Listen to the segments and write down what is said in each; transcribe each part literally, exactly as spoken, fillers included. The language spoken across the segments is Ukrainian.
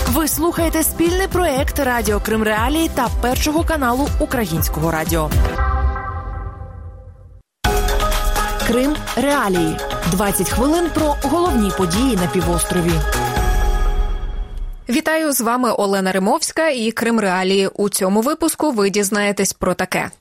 Ви слухаєте спільний проєкт Радіо Крим Реалії та Першого каналу Українського радіо. Крим Реалії. двадцять хвилин про головні події на півострові. Вітаю, з вами Олена Римовська і Крим Реалії. У цьому випуску ви дізнаєтесь про таке.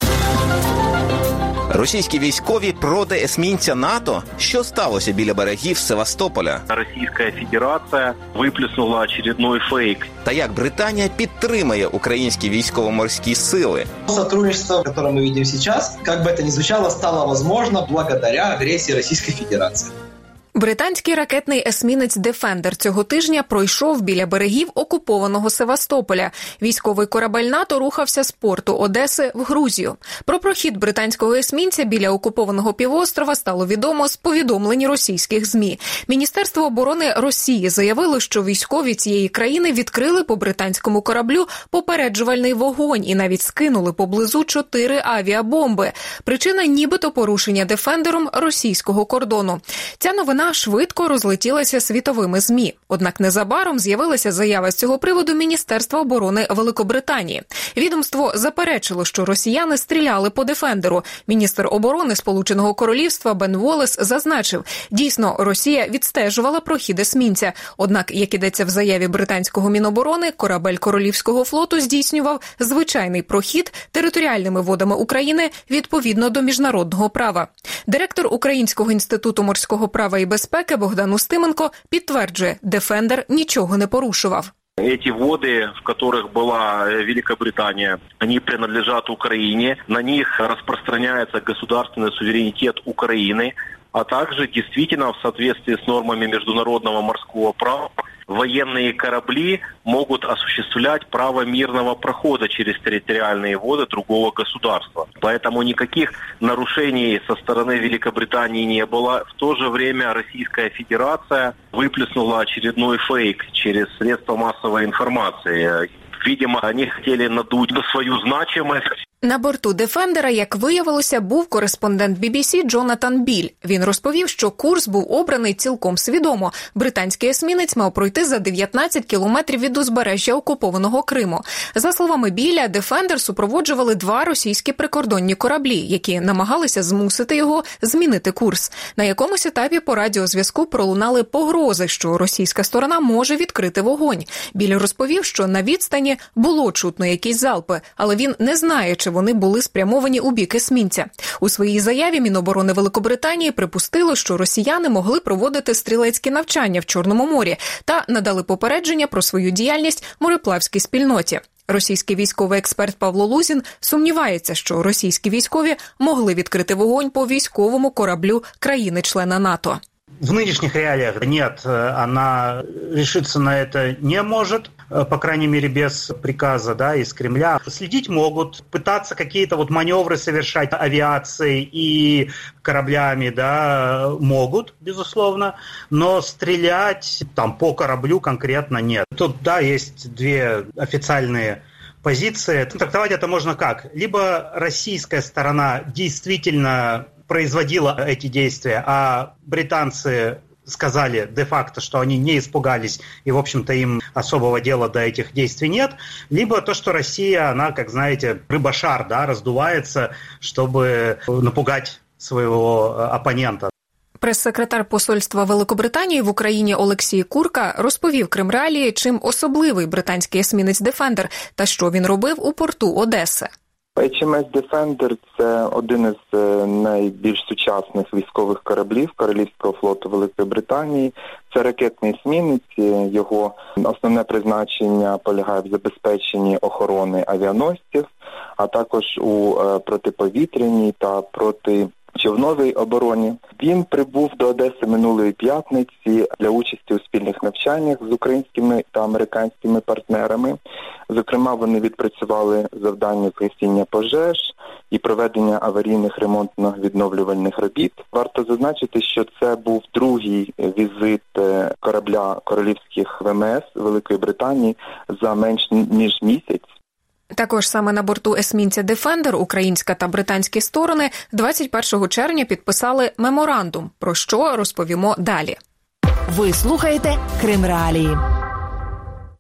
Російські військові проти есмінця НАТО? Що сталося біля берегів Севастополя? Російська Федерація виплеснула очередной фейк. Та як Британія підтримує українські військово-морські сили? Сотрудничество, которое мы видим сейчас, как бы это ни звучало, стало возможно благодаря агрессии Российской Федерации. Британський ракетний есмінець «Дефендер» цього тижня пройшов біля берегів окупованого Севастополя. Військовий корабель НАТО рухався з порту Одеси в Грузію. Про прохід британського есмінця біля окупованого півострова стало відомо з повідомлень російських ЗМІ. Міністерство оборони Росії заявило, що військові цієї країни відкрили по британському кораблю попереджувальний вогонь і навіть скинули поблизу чотири авіабомби. Причина нібито порушення «Дефендером» російського кордону. Ця новина швидко розлетілася світовими ЗМІ. Однак незабаром з'явилася заява з цього приводу Міністерства оборони Великобританії. Відомство заперечило, що росіяни стріляли по «Дефендеру». Міністр оборони Сполученого Королівства Бен Воллес зазначив, дійсно, Росія відстежувала прохід есмінця. Однак, як ідеться в заяві британського Міноборони, корабель Королівського флоту здійснював звичайний прохід територіальними водами України відповідно до міжнародного права. Директор Українського інституту морського права і безпеки Богдан Устименко підтверджує, «Дефендер» нічого не порушував. Эти воды, в которых была Великобритания, они принадлежат Украине, на них распространяется государственный суверенитет Украины, а также действительно в соответствии с нормами международного морского права военные корабли могут осуществлять право мирного прохода через территориальные воды другого государства. Поэтому никаких нарушений со стороны Великобритании не было. В то же время Российская Федерация выплеснула очередной фейк через средства массовой информации. Видимо, они хотели надуть свою значимость. На борту «Дефендера», як виявилося, був кореспондент бі бі сі Джонатан Біль. Він розповів, що курс був обраний цілком свідомо. Британський есмінець мав пройти за дев'ятнадцять кілометрів від узбережжя окупованого Криму. За словами Біля, «Дефендер» супроводжували два російські прикордонні кораблі, які намагалися змусити його змінити курс. На якомусь етапі по радіозв'язку пролунали погрози, що російська сторона може відкрити вогонь. Біль розповів, що на відстані було чутно якісь залпи, але він не знає, чи вони були спрямовані у бік есмінця. У своїй заяві Міноборони Великобританії припустило, що росіяни могли проводити стрілецькі навчання в Чорному морі та надали попередження про свою діяльність мореплавській спільноті. Російський військовий експерт Павло Лузін сумнівається, що російські військові могли відкрити вогонь по військовому кораблю країни-члена НАТО. В нынешних реалиях нет, она решиться на это не может, по крайней мере, без приказа, да, из Кремля. Следить могут, пытаться какие-то вот маневры совершать авиацией и кораблями, да, могут, безусловно, но стрелять там по кораблю конкретно нет. Тут, да, есть две официальные позиции. Трактовать это можно как? Либо российская сторона действительно производила эти действия, а британцы сказали де-факто, что они не испугались, и, в общем-то, им особого дела до этих действий нет, либо то, что Россия, она, как знаете, рыба-шар, да, раздувается, чтобы напугать своего оппонента. Прес-секретар посольства Великобританії в Україні Олексій Курка розповів Крим Реалії, чим особливий британський есмінець «Дефендер» та що він робив у порту Одеси. ейч ем ес «Дефендер» – це один із найбільш сучасних військових кораблів Королівського флоту Великої Британії. Це ракетний есмінець, його основне призначення полягає в забезпеченні охорони авіаносців, а також у протиповітряній та проти човновій обороні. Він прибув до Одеси минулої п'ятниці для участі у спільних навчаннях з українськими та американськими партнерами. Зокрема, вони відпрацювали завдання з гасіння пожеж і проведення аварійних ремонтно-відновлювальних робіт. Варто зазначити, що це був другий візит корабля королівських ве ем ес Великої Британії за менш ніж місяць. Також саме на борту есмінця «Дефендер» українська та британські сторони двадцять першого червня підписали меморандум, про що розповімо далі. Ви слухаєте Крим Реалії.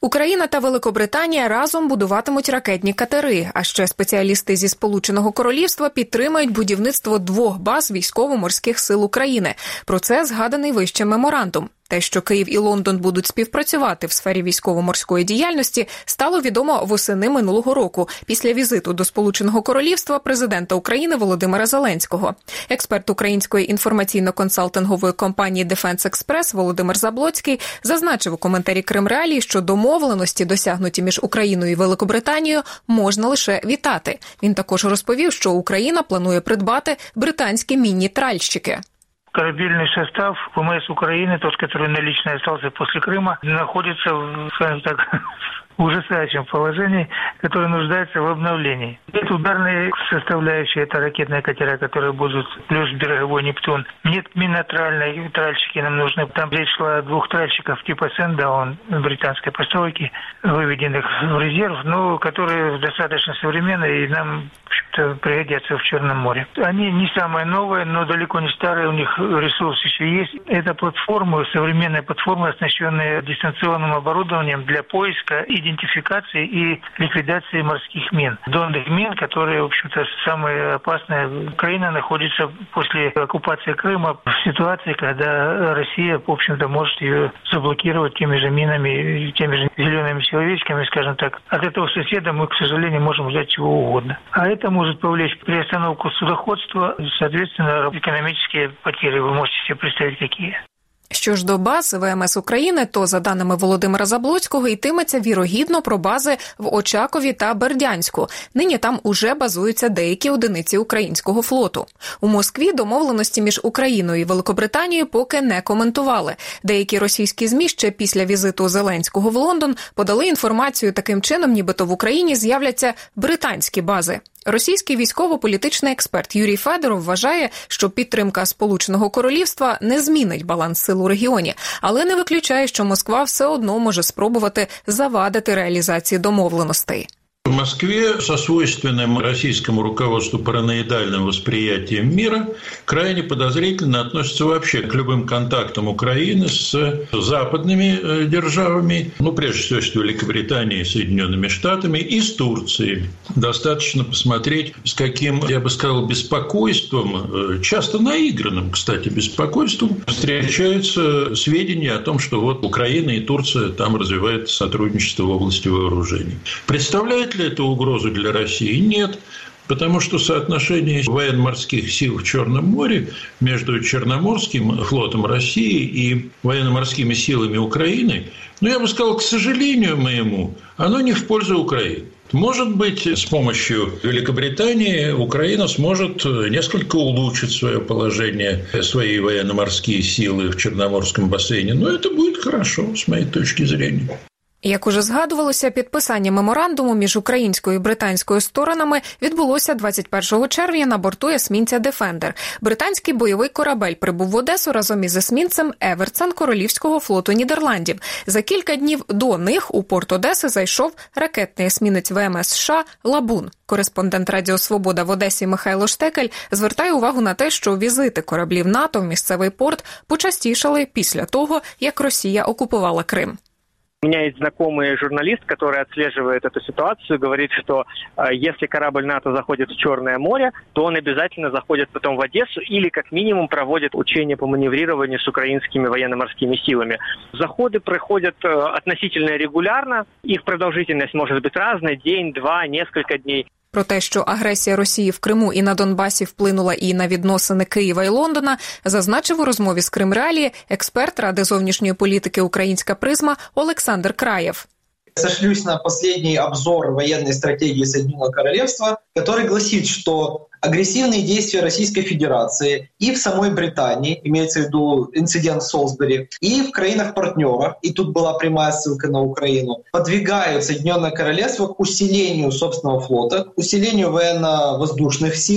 Україна та Великобританія разом будуватимуть ракетні катери, а ще спеціалісти зі Сполученого Королівства підтримають будівництво двох баз військово-морських сил України. Про це згаданий вище меморандум. Те, що Київ і Лондон будуть співпрацювати в сфері військово-морської діяльності, стало відомо восени минулого року, після візиту до Сполученого Королівства президента України Володимира Зеленського. Експерт української інформаційно-консалтингової компанії Defense Express Володимир Заблоцький зазначив у коментарі Кримреалії, що домовленості, досягнуті між Україною і Великобританією, можна лише вітати. Він також розповів, що Україна планує придбати британські мінні тральщики. Корабельный состав ВМС Украины, тот, который налично остался после Крыма, находится в, скажем так, в ужасающем положении, которое нуждается в обновлении. Нет ударной составляющей, это ракетные катера, которые будут, плюс береговой «Нептун». Нет минотральной, тральщики нам нужны. Там речь шла о двух тральщиков типа «Сэндаун» британской постройки, выведенных в резерв, но которые достаточно современные и нам, в общем-то, пригодятся в Черном море. Они не самые новые, но далеко не старые, у них ресурс еще есть. Это платформы, современные платформы, оснащенные дистанционным оборудованием для поиска, идентификации и ликвидации морских мин. Донных мин, которые, в общем-то, самые опасные. Украина находится после оккупации Крыма в ситуации, когда Россия, в общем-то, может ее заблокировать теми же минами, теми же зелеными человечками, скажем так. От этого соседа мы, к сожалению, можем ждать чего угодно. А это может повлечь приостановку судоходства, соответственно, экономические потери. Ви можете собі представити, які. Що ж до баз ВМС України, то, за даними Володимира Заблоцького, йтиметься вірогідно про бази в Очакові та Бердянську. Нині там уже базуються деякі одиниці українського флоту. У Москві домовленості між Україною і Великобританією поки не коментували. Деякі російські ЗМІ ще після візиту Зеленського в Лондон подали інформацію таким чином, нібито в Україні з'являться британські бази. Російський військово-політичний експерт Юрій Федоров вважає, що підтримка Сполученого Королівства не змінить баланс сил у регіоні, але не виключає, що Москва все одно може спробувати завадити реалізації домовленостей. В Москве со свойственным российскому руководству параноидальным восприятием мира крайне подозрительно относятся вообще к любым контактам Украины с западными державами, ну, прежде всего, с Великобританией, Соединенными Штатами и с Турцией. Достаточно посмотреть, с каким, я бы сказал, беспокойством, часто наигранным, кстати, беспокойством, встречаются сведения о том, что вот Украина и Турция там развивают сотрудничество в области вооружений. Представляет ли это угрозу для России? Нет. Потому что соотношение военно-морских сил в Черном море между Черноморским флотом России и военно-морскими силами Украины, ну, я бы сказал, к сожалению моему, оно не в пользу Украины. Может быть, с помощью Великобритании Украина сможет несколько улучшить свое положение, свои военно-морские силы в Черноморском бассейне, но это будет хорошо, с моей точки зрения. Як уже згадувалося, підписання меморандуму між українською і британською сторонами відбулося двадцять першого червня на борту есмінця «Дефендер». Британський бойовий корабель прибув в Одесу разом із есмінцем «Еверцен» Королівського флоту Нідерландів. За кілька днів до них у порт Одеси зайшов ракетний есмінець ВМС США «Лабун». Кореспондент Радіо Свобода в Одесі Михайло Штекель звертає увагу на те, що візити кораблів НАТО в місцевий порт почастішали після того, як Росія окупувала Крим. У меня есть знакомый журналист, который отслеживает эту ситуацию, говорит, что э, если корабль НАТО заходит в Черное море, то он обязательно заходит потом в Одессу или как минимум проводит учения по маневрированию с украинскими военно-морскими силами. Заходы проходят э, относительно регулярно, их продолжительность может быть разной, день, два, несколько дней. Про те, що агресія Росії в Криму і на Донбасі вплинула і на відносини Києва і Лондона, зазначив у розмові з Кримреалії експерт Ради зовнішньої політики «Українська призма» Олександр Краєв. Сошлюсь на последний обзор военной стратегии Соединенного Королевства, который гласит, что агрессивные действия Российской Федерации и в самой Британии, имеется в виду инцидент в Солсбери, и в краинах-партнерах, и тут была прямая ссылка на Украину, подвигают Соединенное Королевство к усилению собственного флота, к усилению военно-воздушных сил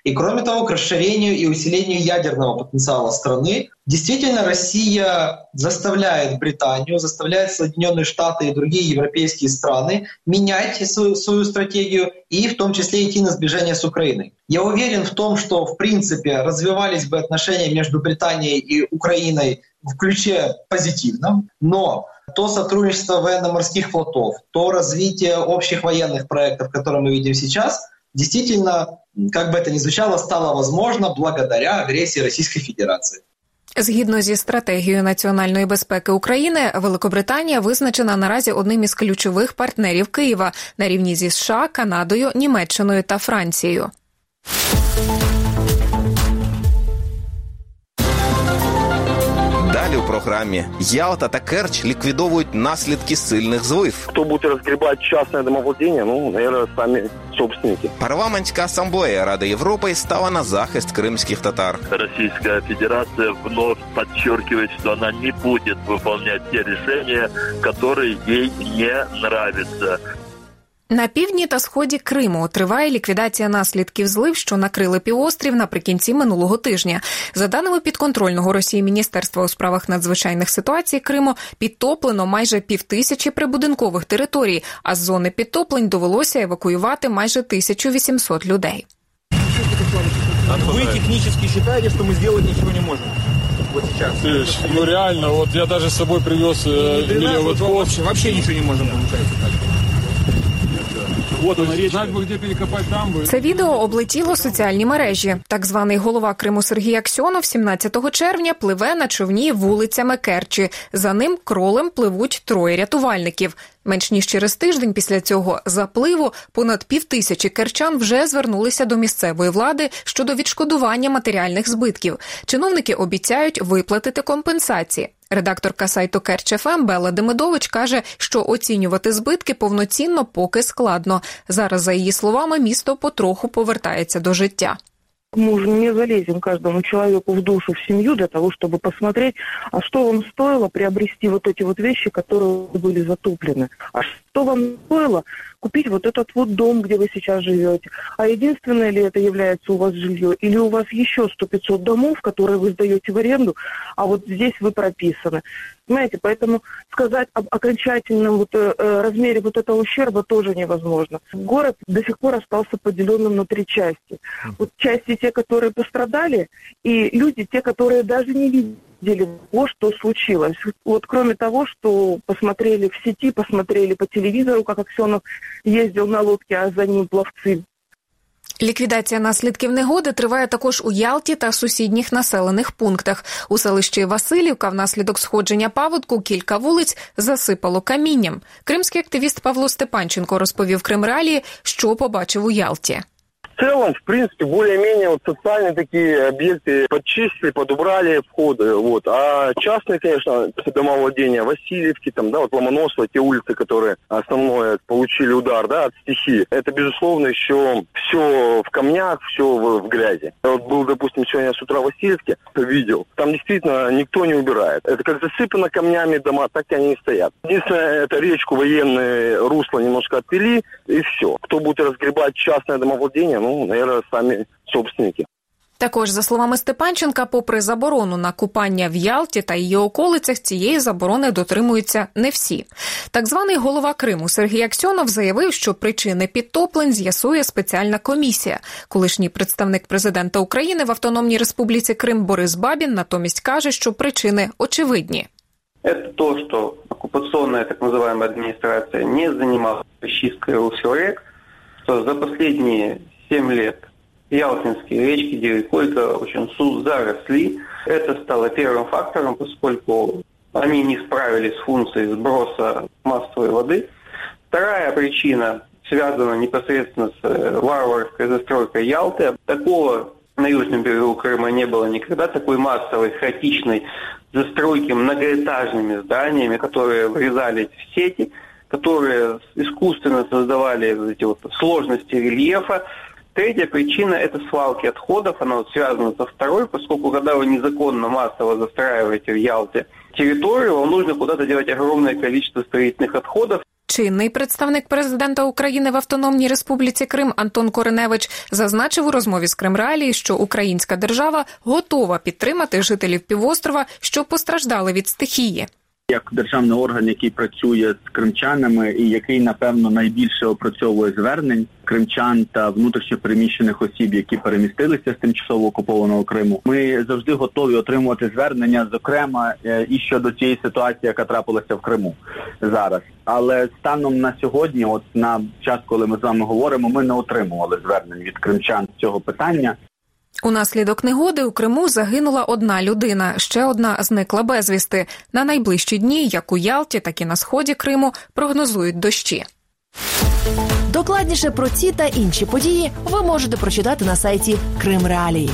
и, кроме того, к расширению и усилению ядерного потенциала страны. Действительно, Россия заставляет Британию, заставляет Соединенные Штаты и другие европейские страны менять свою, свою стратегию и в том числе идти на сближение с Украиной. Я уверен в том, что, в принципе, развивались бы отношения между Британией и Украиной в ключе позитивном, но то сотрудничество военно-морских флотов, то развитие общих военных проектов, которые мы видим сейчас, действительно, как бы это ни звучало, стало возможно благодаря агрессии Российской Федерации. Згідно зі стратегією національної безпеки України, Великобританія визначена наразі одним із ключових партнерів Києва на рівні зі США, Канадою, Німеччиною та Францією. Далі у програмі Ялта та Керчь ліквідовують наслідки сильних злив. Хто буде розгрібати частне домовладіння, ну, мабуть, самі собственники. Парламентська асамблея Ради Європи стала на захист кримських татар. Российская Федерация вновь подчеркивает, что она не будет выполнять те решения, которые ей не нравятся. На півдні та сході Криму триває ліквідація наслідків злив, що накрили півострів наприкінці минулого тижня. За даними підконтрольного Росії Міністерства у справах надзвичайних ситуацій Криму, підтоплено майже півтисячі прибудинкових територій, а з зони підтоплень довелося евакуювати майже тисячу вісімсот людей. Ви технічно вважаєте, що ми зробити нічого не можемо? Вот сейчас. Ну реально, вот я даже с собой привез э, вот вообще, вообще ничего не можем получается. Це відео облетіло соціальні мережі. Так званий голова Криму Сергій Аксьонов сімнадцятого червня пливе на човні вулицями Керчі. За ним кролем пливуть троє рятувальників. Менш ніж через тиждень після цього запливу понад півтисячі керчан вже звернулися до місцевої влади щодо відшкодування матеріальних збитків. Чиновники обіцяють виплатити компенсації. Редакторка сайту Керч еф ем Белла Демидович каже, що оцінювати збитки повноцінно поки складно. Зараз, за її словами, місто потроху повертається до життя. Мы уже не залезем каждому человеку в душу, в семью для того, чтобы посмотреть, а что вам стоило приобрести вот эти вот вещи, которые были затоплены. А что вам стоило купить вот этот вот дом, где вы сейчас живете. А единственное ли это является у вас жилье? Или у вас еще сто-пятьсот домов, которые вы сдаете в аренду, а вот здесь вы прописаны. Понимаете, поэтому сказать об окончательном вот, э, размере вот этого ущерба тоже невозможно. Город до сих пор остался поделенным на три части. Вот части те, которые пострадали, и люди, те, которые даже не видели того, что случилось. Вот кроме того, что посмотрели в сети, посмотрели по телевизору, как Аксьонов ездил на лодке, а за ним пловцы. Ліквідація наслідків негоди триває також у Ялті та сусідніх населених пунктах. У селищі Василівка внаслідок сходження паводку кілька вулиць засипало камінням. Кримський активіст Павло Степанченко розповів Кримреалії, що побачив у Ялті. В целом, в принципе, более-менее вот социальные такие объекты подчистили, подубрали входы, вот. А частные, конечно, домовладения, Васильевки, там, да, вот Ломоносова, те улицы, которые основное получили удар, да, от стихии, это, безусловно, еще все в камнях, все в, в грязи. Я вот был, допустим, сегодня с утра в Васильевке, видел, там действительно никто не убирает. Это как засыпано камнями дома, так и они и стоят. Единственное, это речку военные русла немножко отвели, и все. Кто будет разгребать частное домовладение, ну, наверное, самі собственники. Також, за словами Степанченка, попри заборону на купання в Ялті та її околицях, цієї заборони дотримуються не всі. Так званий голова Криму Сергій Аксьонов заявив, що причини підтоплень з'ясує спеціальна комісія. Колишній представник президента України в Автономній Республіці Крим Борис Бабін натомість каже, що причини очевидні. Это то, что оккупационная так называемая администрация не занималась чисткой русел рек, что за последние семь лет ялтинские речки Дерекойка очень заросли. Это стало первым фактором, поскольку они не справились с функцией сброса массовой воды. Вторая причина связана непосредственно с варварской застройкой Ялты. Такого на южном берегу Крыма не было никогда, такой массовой, хаотичной застройки многоэтажными зданиями, которые врезались в сети, которые искусственно создавали эти вот сложности рельефа. Третья причина – это свалки отходов. Она вот связана со второй, поскольку когда вы незаконно массово застраиваете в Ялте территорию, вам нужно куда-то девать огромное количество строительных отходов. чинний представник президента України в Автономній Республіці Крим Антон Кореневич зазначив у розмові з Кримреалії, що українська держава готова підтримати жителів півострова, що постраждали від стихії. Як державний орган, який працює з кримчанами і який, напевно, найбільше опрацьовує звернень кримчан та внутрішньо переміщених осіб, які перемістилися з тимчасово окупованого Криму, ми завжди готові отримувати звернення, зокрема, і щодо цієї ситуації, яка трапилася в Криму зараз. Але станом на сьогодні, от на час, коли ми з вами говоримо, ми не отримували звернень від кримчан з цього питання. Унаслідок негоди у Криму загинула одна людина, ще одна зникла безвісти. На найближчі дні, як у Ялті, так і на сході Криму, прогнозують дощі. Докладніше про ці та інші події ви можете прочитати на сайті Кримреалії.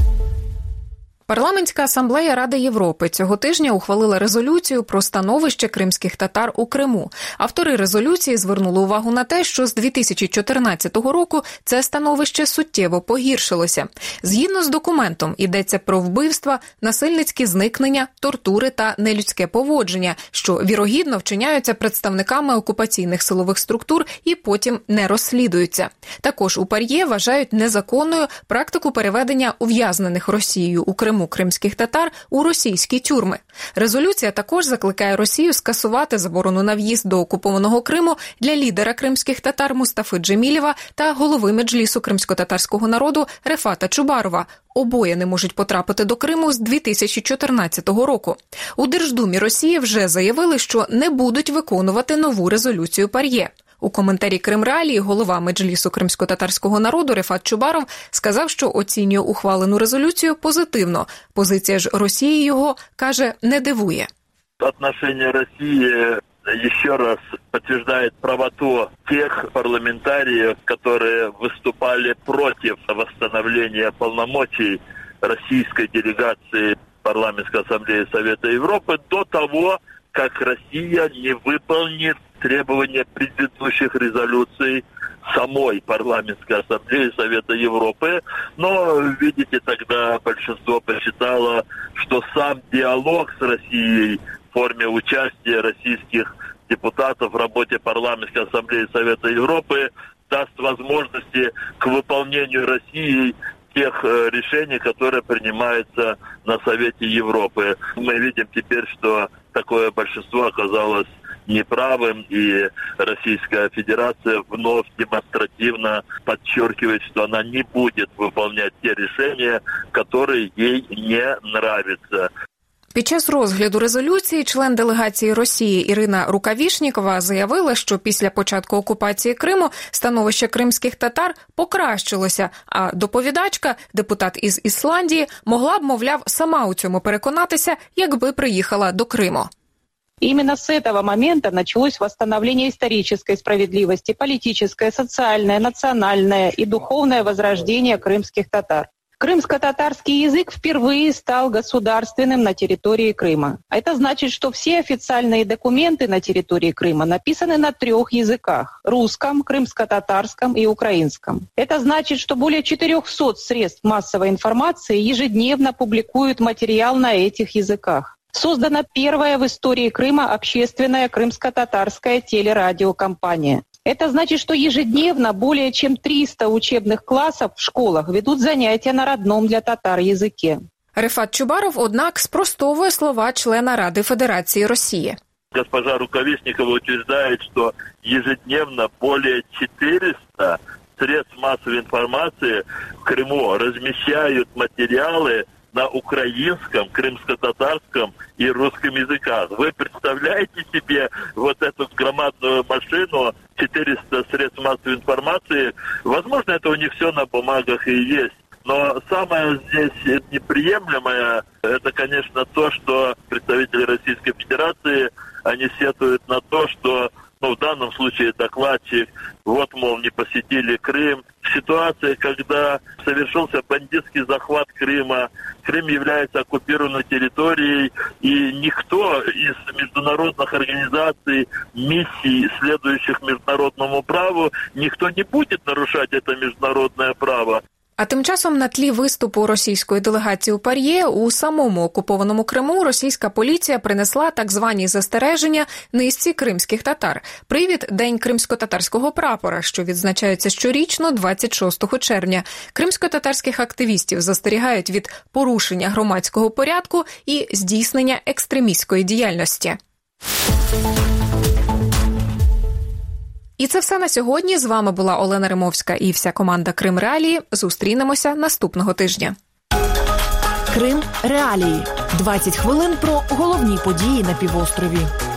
Парламентська асамблея Ради Європи цього тижня ухвалила резолюцію про становище кримських татар у Криму. Автори резолюції звернули увагу на те, що з дві тисячі чотирнадцятого року це становище суттєво погіршилося. Згідно з документом, йдеться про вбивства, насильницькі зникнення, тортури та нелюдське поводження, що вірогідно вчиняються представниками окупаційних силових структур і потім не розслідуються. Також у ПАРЄ вважають незаконною практику переведення ув'язнених Росією у Криму кримських татар у російські тюрми. Резолюція також закликає Росію скасувати заборону на в'їзд до окупованого Криму для лідера кримських татар Мустафи Джемілєва та голови Меджлісу кримсько-татарського народу Рефата Чубарова. Обоє не можуть потрапити до Криму з дві тисячі чотирнадцятого року. У Держдумі Росії вже заявили, що не будуть виконувати нову резолюцію ПАРЄ. У коментарі Кримреалії голова Меджлісу кримсько-татарського народу Рефат Чубаров сказав, що оцінює ухвалену резолюцію позитивно. Позиція ж Росії його, каже, не дивує. Отношение России еще раз подтверждает правоту тех парламентариев, которые выступали против восстановления полномочий российской делегации парламентской ассамблеи Совета Европы до того, как Россия не выполнит требования предыдущих резолюций самой парламентской ассамблеи Совета Европы. Но, видите, тогда большинство посчитало, что сам диалог с Россией в форме участия российских депутатов в работе парламентской ассамблеи Совета Европы даст возможности к выполнению Россией тех решений, которые принимаются на Совете Европы. Мы видим теперь, что такое большинство оказалось неправым, и Российская Федерация вновь демонстративно подчеркивает, что она не будет выполнять те решения, которые ей не нравятся. Під час розгляду резолюції член делегації Росії Ірина Рукавішнікова заявила, що після початку окупації Криму становище кримських татар покращилося, а доповідачка, депутат із Ісландії, могла б, мовляв, сама у цьому переконатися, якби приїхала до Криму. Именно с этого момента началось восстановление исторической справедливости, политическое, социальное, национальное и духовное возрождение крымских татар. Крымско-татарский язык впервые стал государственным на территории Крыма. Это значит, что все официальные документы на территории Крыма написаны на трех языках – русском, крымско-татарском и украинском. Это значит, что более четырехсот средств массовой информации ежедневно публикуют материал на этих языках. Создана первая в истории Крыма общественная крымско-татарская телерадиокомпания. Это значит, что ежедневно более чем триста учебных классов в школах ведут занятия на родном для татар языке. Рефат Чубаров, однак, спростовує слова члена Ради Федерации России. Госпожа Рукавишникова утверждает, что ежедневно более четырёхсот средств массовой информации в Крыму размещают материалы на украинском, крымско-татарском и русском языках. Вы представляете себе вот эту громадную машину, четыреста средств массовой информации? Возможно, это у них все на бумагах и есть. Но самое здесь неприемлемое, это, конечно, то, что представители Российской Федерации, они сетуют на то, что, ну, в данном случае докладчик, вот, мол, не посетили Крым. Ситуация, когда совершился бандитский захват Крыма, Крым является оккупированной территорией, и никто из международных организаций, миссий, следующих международному праву, никто не будет нарушать это международное право. А тим часом на тлі виступу російської делегації у ПАРЄ у самому окупованому Криму російська поліція принесла так звані застереження низці кримських татар. Привід – День кримсько-татарського прапора, що відзначається щорічно двадцять шостого червня. Кримсько-татарських активістів застерігають від порушення громадського порядку і здійснення екстремістської діяльності. І це все на сьогодні. З вами була Олена Римовська і вся команда Крим Реалії. Зустрінемося наступного тижня. Крим Реалії. двадцять хвилин про головні події на півострові.